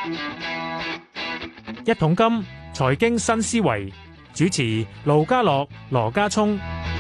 一桶金財經新思維，主持盧家樂、羅家聰。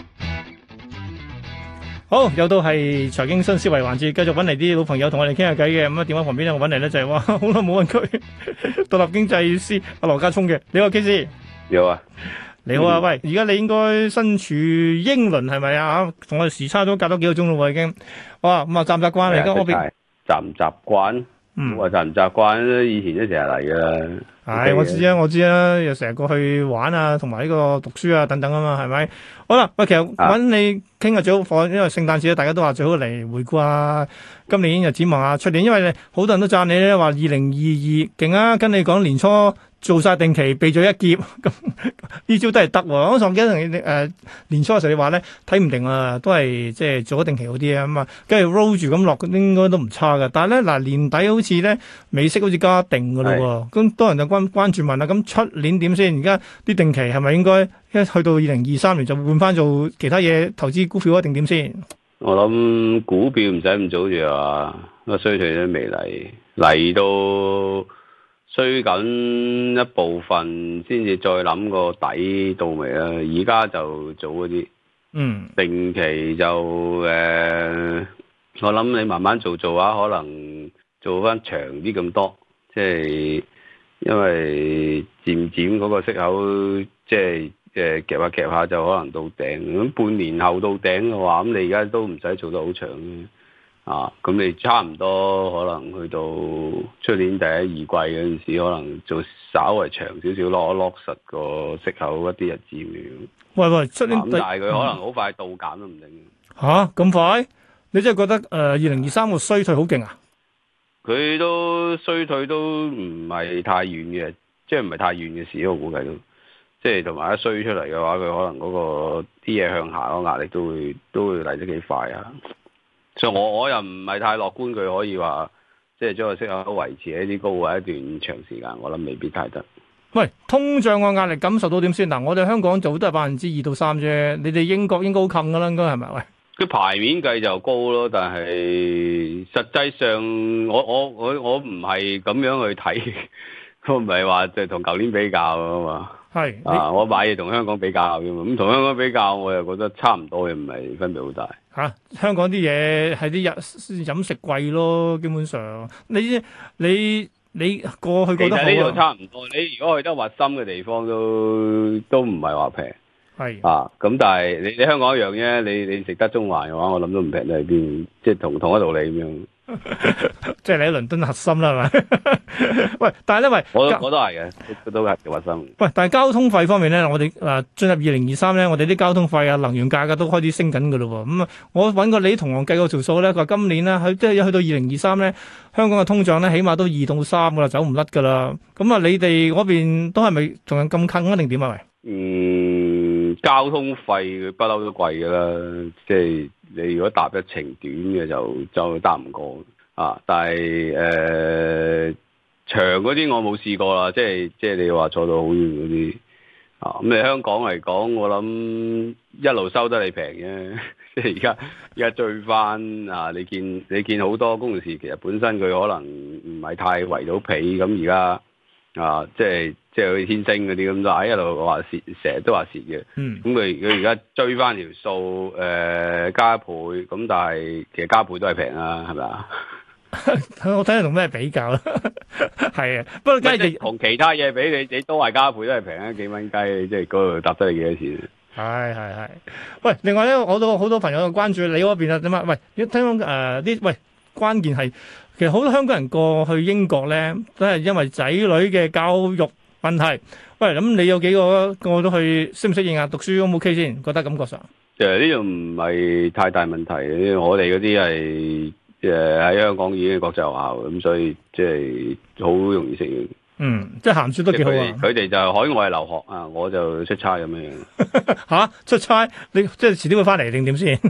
好，又到係財經新思維環節，繼續揾嚟啲老朋友同我哋傾下偈嘅。咁啊，電話旁邊咧，我揾嚟咧就係哇，好耐冇揾佢，獨立經濟師阿羅家聰嘅。你好，K 師。 有啊， 你好啊，喂，而家你應該身處英倫係咪啊？同我哋時差都隔多幾個鐘咯喎，已經。哇，咁啊，習唔習慣嚟？而家嗰邊習唔習慣？我習唔習慣？以前都成日嚟噶。 係，我知啊，又成日過去玩啊，同埋呢個讀書啊等等啊嘛，係咪？好啦，喂，其實揾你傾下最好，因為聖誕節咧，大家都話最好嚟回顧啊，今年又展望下出年，因為你好多人都讚你咧，話2022勁啊，跟你講年初做晒定期避咗一劫，咁呢招都係得喎。我上記得同你年初嘅時候你話咧睇唔定啊，都係即係做咗定期好啲啊，咁啊，跟住 roll 住咁落，應該都唔差嘅。但係咧嗱，年底好似咧美息好似加定嘅咯喎，咁多人就關注問啦，咁出年點先？而家啲定期係咪應該一去到2023年就換翻做其他嘢投資股票一定點先？ 我諗股票唔使咁早住啊，個衰退都未嚟到。衰緊一部分，先至再諗個底到未啦。而家就做嗰啲，定期就我諗你慢慢做下，可能做翻長啲咁多，即係因為漸漸嗰個息口，即係夾下就可能到頂。咁半年後到頂嘅話，咁你而家都唔使做得好長嘅。咁你差唔多可能去到出年第一二季嗰陣時，可能做稍為長少少落實個息口一啲日子咁樣。 喂，出年但係佢可能好快到減都唔定。 吓咁快？你真係覺得2023個衰退好勁啊？ 佢都衰退都唔係太遠嘅，即係唔係太遠嘅事，我估計都即係同埋一衰出嚟嘅話，佢可能嗰個啲嘢向下嗰個壓力都會嚟得幾快啊！所以我又唔係太樂觀，佢可以話即係將個息口維持喺啲高位一段長時間，我諗未必太得。 喂，通脹個壓力感受到點先？嗱，我哋香港就都係2%到3%啫，你哋英國應該好近噶啦，應該係咪？喂， 佢牌面計就高咯，但係實際上我唔係咁樣去睇，我唔係話就同舊年比較啊嘛。係我買嘢同香港比較嘅嘛，咁同香港比較，我又覺得差唔多嘅，唔係分別好大。 香港啲嘢係啲飲食貴咯，基本上你過去覺得好，其實呢度差唔多。你如果去得核心嘅地方都唔係話平。咁但係你香港一樣啫，你食得中環嘅話，我諗都唔平得喺邊，即係同一道理咁樣。 即係你喺倫敦核心啦，係咪？喂，但係咧， 我都係嘅，都係核心。 喂，但係交通費方面咧，我哋進入2023咧，我哋啲交通費啊、能源價格都開始升緊㗎咯喎。咁我揾過你同行計過條數咧，佢話今年咧，即係去到2023咧，香港嘅通脹咧，起碼都2到3㗎啦，走唔甩㗎啦。咁啊，你哋嗰邊都係咪仲有咁近啊？定點啊？喂， 交通費佢不嬲都貴㗎啦，即係你如果搭一程短嘅就搭唔過但係長嗰啲我冇試過啦，即係你話坐到好遠嗰啲咁你香港嚟講，我諗一路收得你平嘅，即係而家追翻你見好多公司其實本身佢可能唔係太圍到皮，咁而家即係好似天星嗰啲咁就一路話蝕，成日都話蝕嘅。咁佢而家追翻條數，加一倍，咁但係其實加倍都係平啊，係咪啊？ 我睇你同咩比較啦？係啊，不過梗係同其他嘢比，你都係加倍都係平啊，幾蚊雞，即係嗰度搭得你幾多錢？ 係。喂，另外咧，我都好多朋友關注你嗰邊啊，點啊？喂，聽講喂，關鍵係其實好多香港人過去英國咧，都係因為仔女嘅教育問題。喂，咁你有幾個都去適唔適應啊？讀書 O 唔 OK 先？覺得感覺上其實呢度唔係太大問題，我哋嗰啲係喺香港已經係國際學校，咁所以即係好容易適應。 即係鹹書都幾好啊！ 佢哋就海外留學啊，我就出差咁樣。 出差你即係遲啲會翻嚟定點先？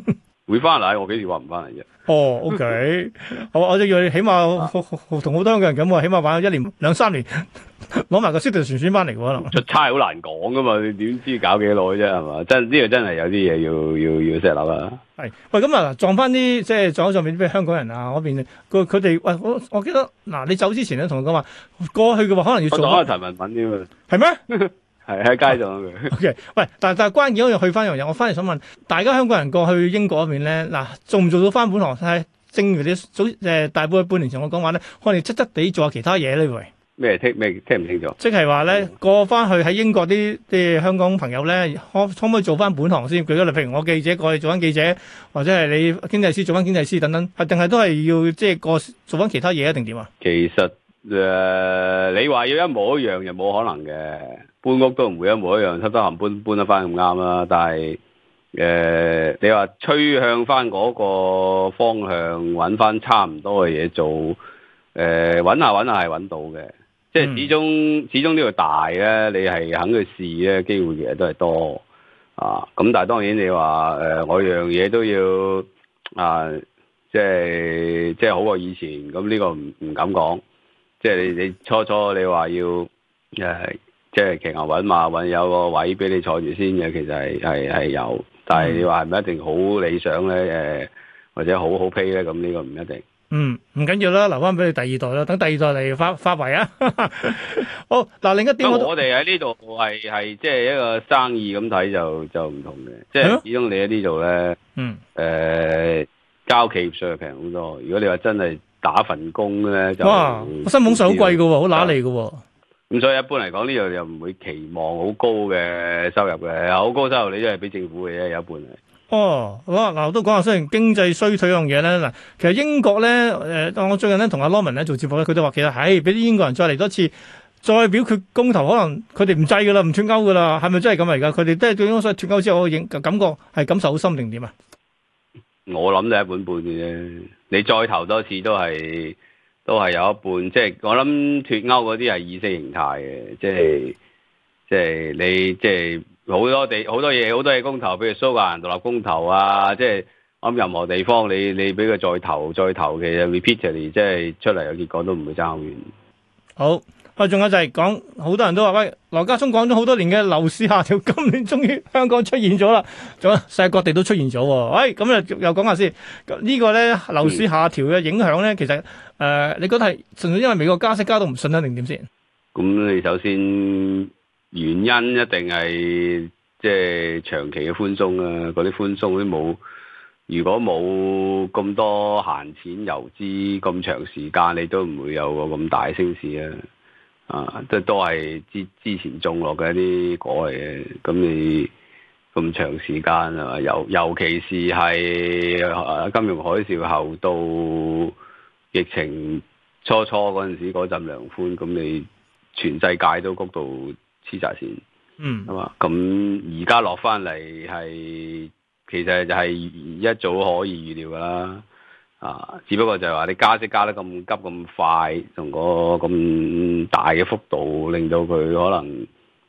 會翻嚟，我幾時話唔翻嚟啫？ 哦，OK，我就要起碼同好多香港人咁喎，起碼玩咗1年2-3年，攞埋個 citizenship 翻嚟喎，可能出差好難講噶嘛，你點知搞幾耐啫係嘛？真呢個真係有啲嘢要 set 諗啊！ 係喂，咁啊撞翻啲即係撞咗上面啲香港人啊嗰邊，佢哋喂我記得嗱，你走之前咧同佢講話過去嘅話可能要做我講陳文敏添啊， 係咩？ 係喺街上佢。 OK，喂，但係關鍵嗰樣去翻一樣嘢，我翻嚟想問大家香港人過去英國嗰邊咧，嗱做唔做到翻本行？係正如你早大半年前我講話咧，可能側側地做下其他嘢呢喂。 咩聽唔清楚？ 即係話咧過翻去喺英國啲香港朋友咧，可唔可以做翻本行先？舉個例，譬如我記者過去做翻記者，或者係你經濟師做翻經濟師等等，定係都係要即係做翻其他嘢一定點啊？ 其實你話要一模一樣又冇可能嘅。搬屋都唔會一模一樣，得閒搬得翻咁啱啦。但係你話趨向翻嗰個方向，揾翻差唔多嘅嘢做，揾下係揾到嘅。即係始終呢個大咧，你係肯去試咧，機會其實都係多啊。咁但係當然你話我樣嘢都要啊，即係好過以前。咁呢個唔敢講。即係你初你話要即係騎牛揾馬，有個位俾你坐住先嘅，其實係有，但係你話係咪一定好理想咧？或者好批咧？咁呢個唔一定。 唔緊要啦，留翻俾你第二代啦，等第二代嚟發圍啊！好嗱，另一點我哋喺呢度係即係一個生意咁睇就唔同嘅，即係始終你喺呢度咧，交企業稅平好多。如果你話真係打份工咧，就哇，薪俸稅好貴㗎喎，好揦脷㗎喎。 咁所以一般嚟講，呢度又唔會期望好高嘅收入嘅，好高收入你都係俾政府嘅啫，有一半係。 哦，好啊，嗱，我都講下雖然經濟衰退嗰樣嘢咧，嗱，其實英國咧，我最近咧同阿 Norman 咧做節目咧，佢都話其實係俾啲英國人再嚟多次，再表決公投，可能佢哋唔制噶啦，唔脫歐噶啦，係咪真係咁嚟噶？佢哋都係對所以脫歐之後，我感覺係感受好深定點啊？ 我諗就一半半嘅啫，你再投多次都係有一半，即係我諗脫歐嗰啲係意識形態嘅，即係你即係。好多嘢公投，譬如蘇格蘭獨立公投啊，即係我諗任何地方你俾佢再投，其實 repeatedly 即係出嚟嘅結果都唔會爭好遠。 好，仲有就係講好多人都話喂，羅家聰講咗好多年嘅樓市下調，今年終於香港出現咗啦，仲有世界各地都出現咗。喂，咁又講下先，呢個咧樓市下調嘅影響咧，其實你覺得係純粹因為美國加息加到唔順啊，定點先？ 咁你首先。原因一定係即係長期嘅寬鬆啊！嗰啲寬鬆都冇，如果冇咁多閒錢遊資咁長時間，你都唔會有個咁大升市啊！都係之前種落嘅一啲果嚟嘅。咁你咁長時間啊，尤其是係金融海嘯後到疫情初嗰陣時嗰陣量寬，咁你全世界都谷到黐晒線，係嘛？咁而家落翻嚟係，其實就係一早可以預料噶啦，只不過就係話你加息加得咁急咁快，同個咁大嘅幅度，令到佢可能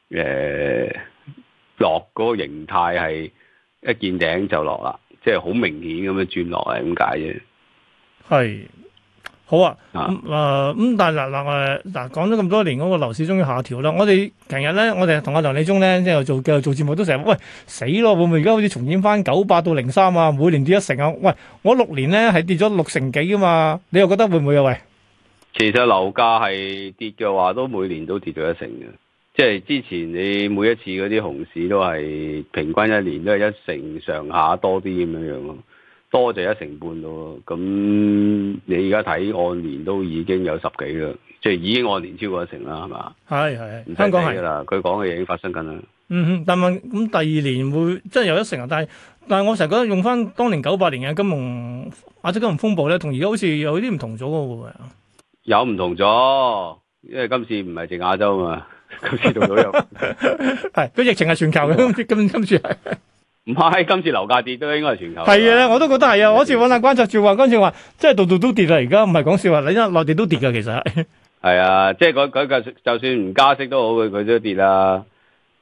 落嗰個形態係一見頂就落啦，即係好明顯咁樣轉落嚟咁解啫。 係。好啊，但係嗱講咗咁多年嗰個樓市終於下調啦。我哋平日咧，我哋同阿梁理中咧即係做節目都成日喂死咯，會唔會而家好似重演翻98到03啊？每年跌1成啊？喂，我6年咧係跌咗6成幾噶嘛？你又覺得會唔會啊？喂，其實樓價係跌嘅話，都每年都跌咗1成嘅。即係之前你每一次嗰啲熊市都係平均一年都係1成上下多啲咁樣咯。多就1成半咯，咁你而家睇按年都已經有10幾啦，即係已經按年超過1成啦，係嘛？係，香港係啦，佢講嘅嘢已經發生緊啦。但係咁第二年會真係有1成啊？但係我成日覺得用翻當年98年嘅亞洲金融風暴咧，同而家好似有啲唔同咗嘅喎。有唔同咗，因為今次唔係淨亞洲啊嘛，今次到到有係個疫情係全球嘅，今次係。唔係，今次樓價跌都應該係全球。係啊，我都覺得係啊。我嗰次揾下觀察住話，嗰次話即係度度都跌啦。而家唔係講笑話，你因為內地都跌㗎，其實係啊，即係佢就算唔加息都好，佢都跌啦。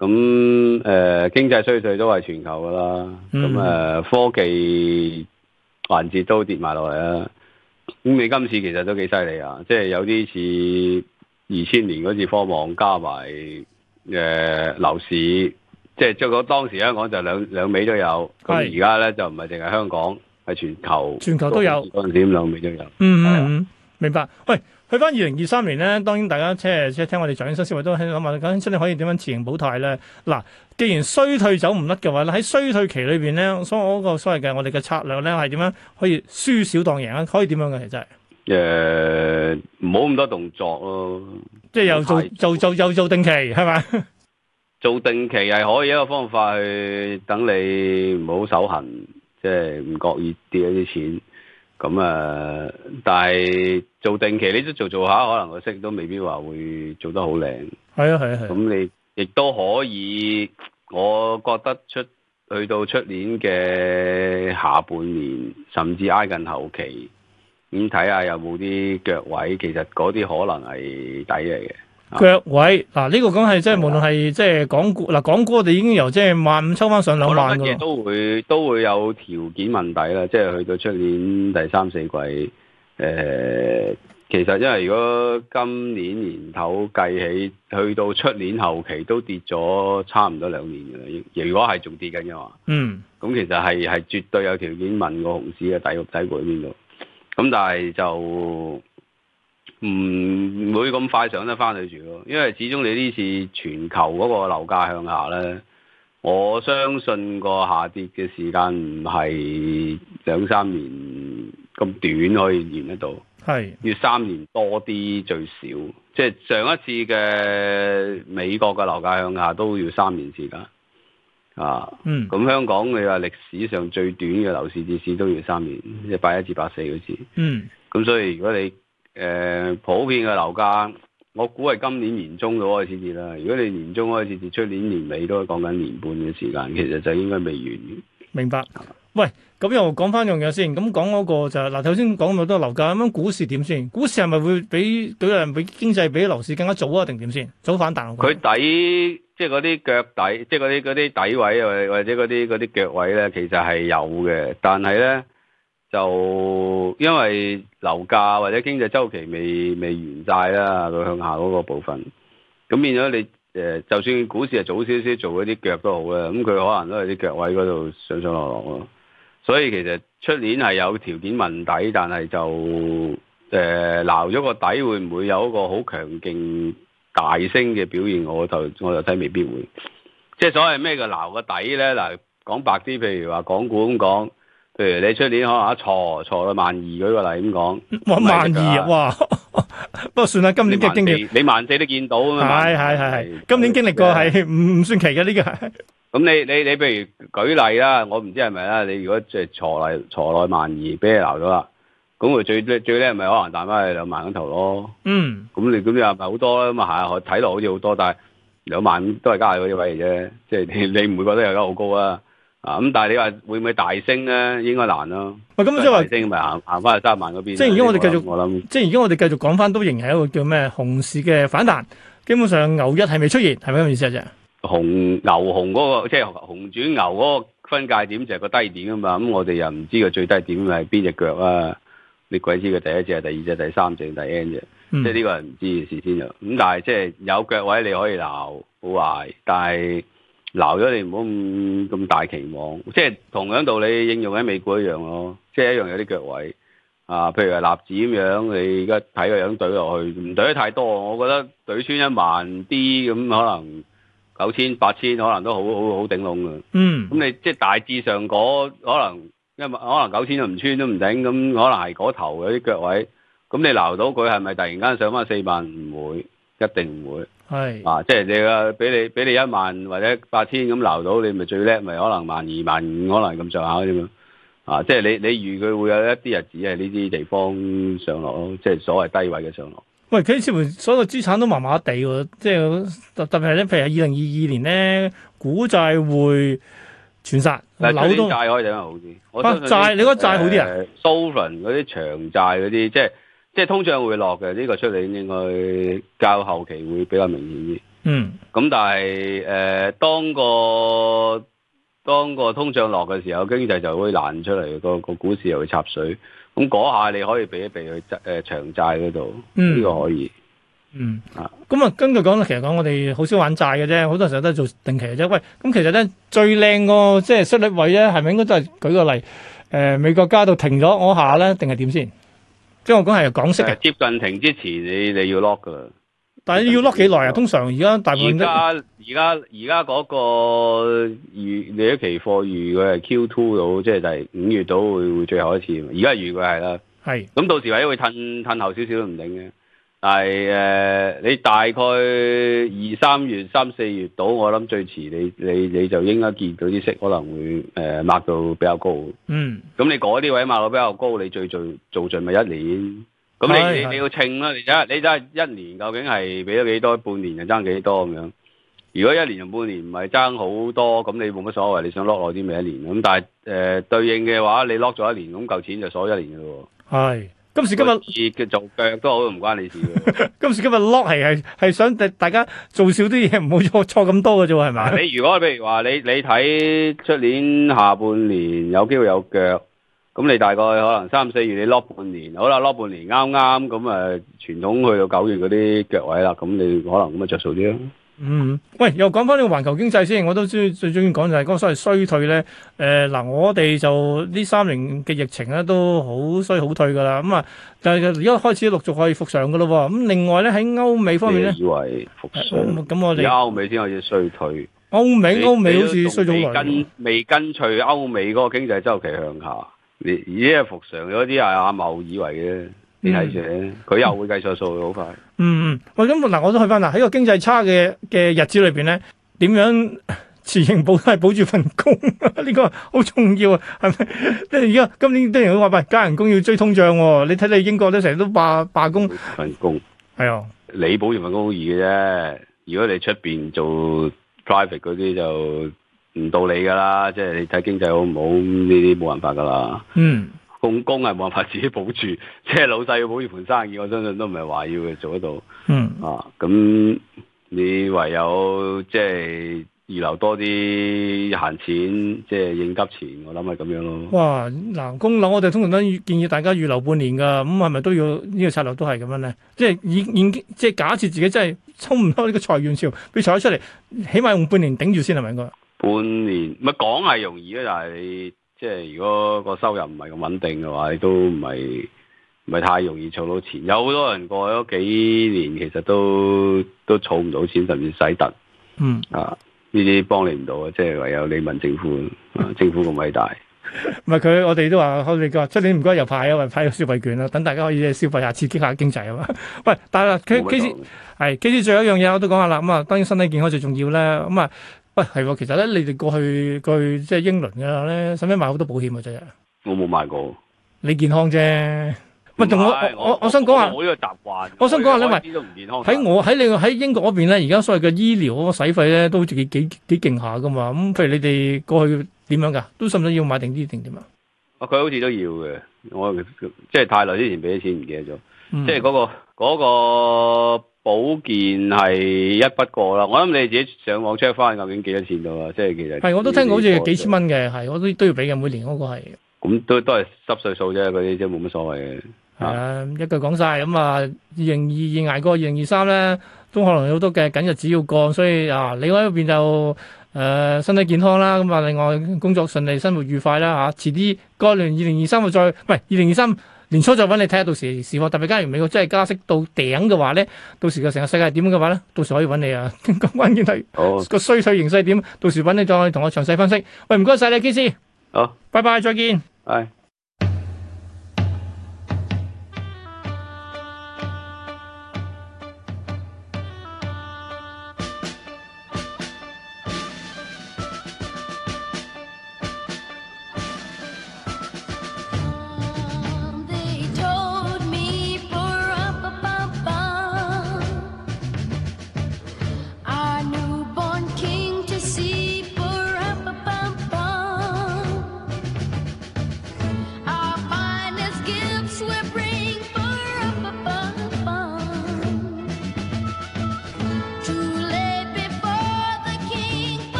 經濟衰退都係全球噶啦，科技環節都跌埋落嚟啦。咁你今次其實都幾犀利啊！即係有啲似2000年嗰次科網加埋樓市，即係嗰當時香港就兩尾都有。咁而家咧就唔係淨係香港，係全球都有。 嗰陣時咁兩尾都有。 明白。喂，去翻2023年咧，當然大家即係聽我哋財經新思維都喺度諗下，究竟真係可以點樣持盈保泰咧？嗱，既然衰退走唔甩嘅話咧，喺衰退期裏邊咧，所謂嘅我哋嘅策略咧係點樣可以輸少當贏啊？可以點樣嘅其實係？ 唔好咁多動作咯， 即係又做定期係咪？ 做定期係可以一個方法去等你唔好手痕，即係唔覺意跌一啲錢。咁但係做定期你都做下，可能個息都未必話會做得好靚。 係啊。 咁你亦都可以，我覺得去到出年嘅下半年，甚至挨近後期，咁睇下有冇啲腳位，其實嗰啲可能係底嚟嘅。 腳位嗱，呢個講係即係無論係即係港股嗱，港股我哋已經由即係15000抽翻上2萬㗎啦。 都會有條件問底啦，即係去到出年第3、4季。其實因為如果今年年頭計起，去到出年後期都跌咗差唔多2年㗎啦。如果係仲跌緊嘅話，咁其實係絕對有條件問個熊市嘅底部喺邊度。咁但係就唔會咁快上得翻去住咯，因為始終你呢次全球嗰個樓價向下咧，我相信個下跌嘅時間唔係2、3年咁短可以完得到，要3年多啲最少。即係上一次嘅美國嘅樓價向下都要3年時間啊。咁香港你話歷史上最短嘅樓市跌市都要3年，即係81至84嗰次。咁所以如果你普遍嘅樓價，我估係今年年中就開始跌啦。如果你年中開始跌，出年年尾都係講緊年半嘅時間，其實就應該未完。 明白。喂，咁又講翻樣嘢先。咁講嗰個就係嗱，頭先講咁多樓價，咁樣股市點先？股市係咪會比經濟比樓市更加早啊？定點先？早反彈？ 佢底即係嗰啲腳底，即係嗰啲底位或者嗰啲腳位咧，其實係有嘅，但係咧。就因為樓價或者經濟周期未完晒啦，佢向下嗰個部分，咁變咗你就算股市係早少少做嗰啲腳都好啦，咁佢可能都係啲腳位嗰度上上落落咯。所以其實出年係有條件問底，但係就撈咗個底會唔會有一個好強勁大升嘅表現？我就睇未必會。即係所謂咩叫撈個底咧？嗱，講白啲，譬如話港股咁講。譬如你出年可能挫到12000，舉個例咁講 ，12000哇！不過算啦，今年嘅經歷， 你14000都見到啊嘛。 係，今年經歷過係唔算奇嘅呢個。 咁你譬如舉例啦，我唔知係咪啦。你如果即係挫內12000，俾你鬧咗啦，咁佢最叻咪可能彈翻去2萬嗰頭咯。咁你又唔係好多啦，咁啊係，睇落好似好多，但係2萬都係加嗰啲位嚟啫。即係你唔會覺得有得好高啊？咁但係你話會唔會大升咧？應該難咯。喂，咁即係話升咪行翻去3萬嗰邊。 即係而家我哋繼續，我諗，即係而家我哋繼續講翻，都仍然係一個叫咩熊市嘅反彈。基本上牛一係未出現，係咪咁意思啊？啫牛熊嗰個即係熊轉牛嗰個分界點就係個低點啊嘛。咁我哋又唔知個最低點係邊隻腳啊？你鬼知佢第一隻、第二隻、第三隻、第 N 隻，即係呢個係唔知嘅事先有。咁但係即係有腳位你可以撈好壞，但係。撈咗你唔好咁大期望，即係同樣道理應用喺美股一樣咯，即係一樣有啲腳位啊，譬如係納指咁樣，你而家睇個樣懟落去，唔懟得太多，我覺得懟穿10000啲咁，可能9000、8000可能都好頂籠㗎。咁你即係大致上可能9000都唔穿都唔頂，咁可能係嗰頭有啲腳位，咁你撈到佢係咪突然間上翻40000？唔會，一定唔會。即係你俾你10000或者8000咁撈到，你咪最叻，咪可能12000、15000可能咁上下啫嘛。即係你預佢會有一啲日子係呢啲地方上落咯，即係所謂低位嘅上落。 喂，佢似乎所有資產都麻麻地喎，即係特別係咧，譬如2022年咧，股債匯全殺，樓都債可以整得好啲。 債你覺得債好啲啊 ？sovereign 嗰啲長債嗰啲，即係通脹會落嘅，呢個出嚟應該較後期會比較明顯啲。 咁但係當個通脹落嘅時候，經濟就會爛出嚟，個股市又會插水。咁嗰下你可以避一避去長債嗰度，呢個可以。 咁啊，根據講咧，其實講我哋好少玩債嘅啫，好多時候都係做定期嘅啫。喂，咁其實咧最靚個即係息率位咧，係咪應該都係舉個例？美國加到停咗嗰下咧，定係點先？即係我講係港息嘅。接近停之前，你要 lock 噶啦。 但係要 lock 幾耐啊？通常而家大部分而家嗰個你啲期貨預佢係 Q2 到，即係第5月到會最後一次。而家預佢係啦。係。咁到時或者會褪後少少都唔定嘅。但係你大概2、3月、3、4月到，我諗最遲你就應該見到啲息可能會抹到比較高。咁你嗰啲位抹到比較高，你最做盡咪1年。咁你要稱啦，你睇下1年究竟係俾咗幾多，半年就爭幾多咁樣。如果1年同半年唔係爭好多，咁你冇乜所謂，你想 lock 耐啲咪1年。咁但係對應嘅話，你 lock 咗1年，咁嚿錢就鎖1年嘅咯。係。今時今日嘅做腳都好，唔關你事嘅。今時今日 lock 係想大家做少啲嘢，唔好錯咁多嘅啫，係咪？你如果譬如話你睇出年下半年有機會有腳，咁你大概可能3、4月你 lock 半年，好啦 lock 半年啱咁傳統去到9月嗰啲腳位啦，咁你可能咁着數啲咯。喂，又講翻呢個環球經濟先，我都最中意講就係嗰個所謂衰退咧。我哋就呢3年嘅疫情咧都好衰好退噶啦。咁但係而家開始陸續可以復上噶咯。咁另外咧喺歐美方面咧，以為復上，咁我哋歐美先開始衰退。歐美好似衰咗好耐，未跟隨歐美嗰個經濟周期向下。你而家復常咗啲係阿茂以為嘅。你睇住，佢又會計錯數，好快。喂，咁我都去翻啦。喺個經濟差嘅日子裏邊咧，點樣持盈保係保住份工？呢個好重要啊，係咪？即係而家今年啲人都話喂，加人工要追通脹喎。你睇你英國都成日都罷工。份工係啊，你保住份工好易嘅啫。如果你出邊做 private 嗰啲就唔到你噶啦。即係你睇經濟好唔好呢啲冇辦法噶啦。工係冇辦法自己保住，即係老細要保住盤生意，我相信都唔係話要佢做得到。咁你唯有即係預留多啲閒錢，即係應急錢，我諗係咁樣咯。哇！嗱，供樓我哋通常都建議大家預留半年㗎，咁係咪都要呢個策略都係咁樣咧？即係即係假設自己真係衝唔開呢個裁員潮，俾裁咗出嚟，起碼用半年頂住先係咪應該？半年咪講係容易啊，但係你。即係如果個收入唔係咁穩定嘅話，你都唔係太容易儲到錢。有好多人過咗幾年，其實都儲唔到錢，甚至使突。呢啲幫你唔到啊！即係唯有你問政府，政府咁偉大。唔係佢，我哋都話，我哋話出年唔該又派啊，派個消費券啦，等大家可以消費下，刺激下經濟啊嘛。喂，但係KC 最後一樣嘢我都講下啦。咁當然身體健康最重要啦。喂，係喎，其實咧，你哋過去即係英倫嘅咧，使唔使買好多保險啊？真係我冇買過，你健康啫。喂，同我想講下，我呢個習慣，我想講下咧，咪喺英國嗰邊咧，而家所謂嘅醫療嗰個使費咧，都好似幾勁下噶嘛。咁譬如你哋過去點樣㗎？都使唔使要買定啲定點啊？佢好似都要嘅，我即係太耐之前俾咗錢唔記得咗，即係嗰個。保健係一筆過啦，我諗你自己上網 check 翻究竟幾多錢到啦，即係其實係我都聽過好似幾千蚊嘅，係我都要俾嘅，每年嗰個係。咁都係濕碎數啫，嗰啲即係冇乜所謂嘅。係啊，一句講晒咁啊，2022捱過2023咧，都可能有好多嘅緊日子要過，所以另外一邊就身體健康啦，咁另外工作順利，生活愉快啦嚇，遲啲過完2023再唔係2023。年初再揾你睇下，到時時況特別假如美國真係加息到頂嘅話咧，到時個成個世界點嘅話咧，到時可以揾你啊。咁關鍵係個衰退形勢點，到時揾你再同我詳細分析。喂，唔該晒你 KC。好，拜拜，再見。係。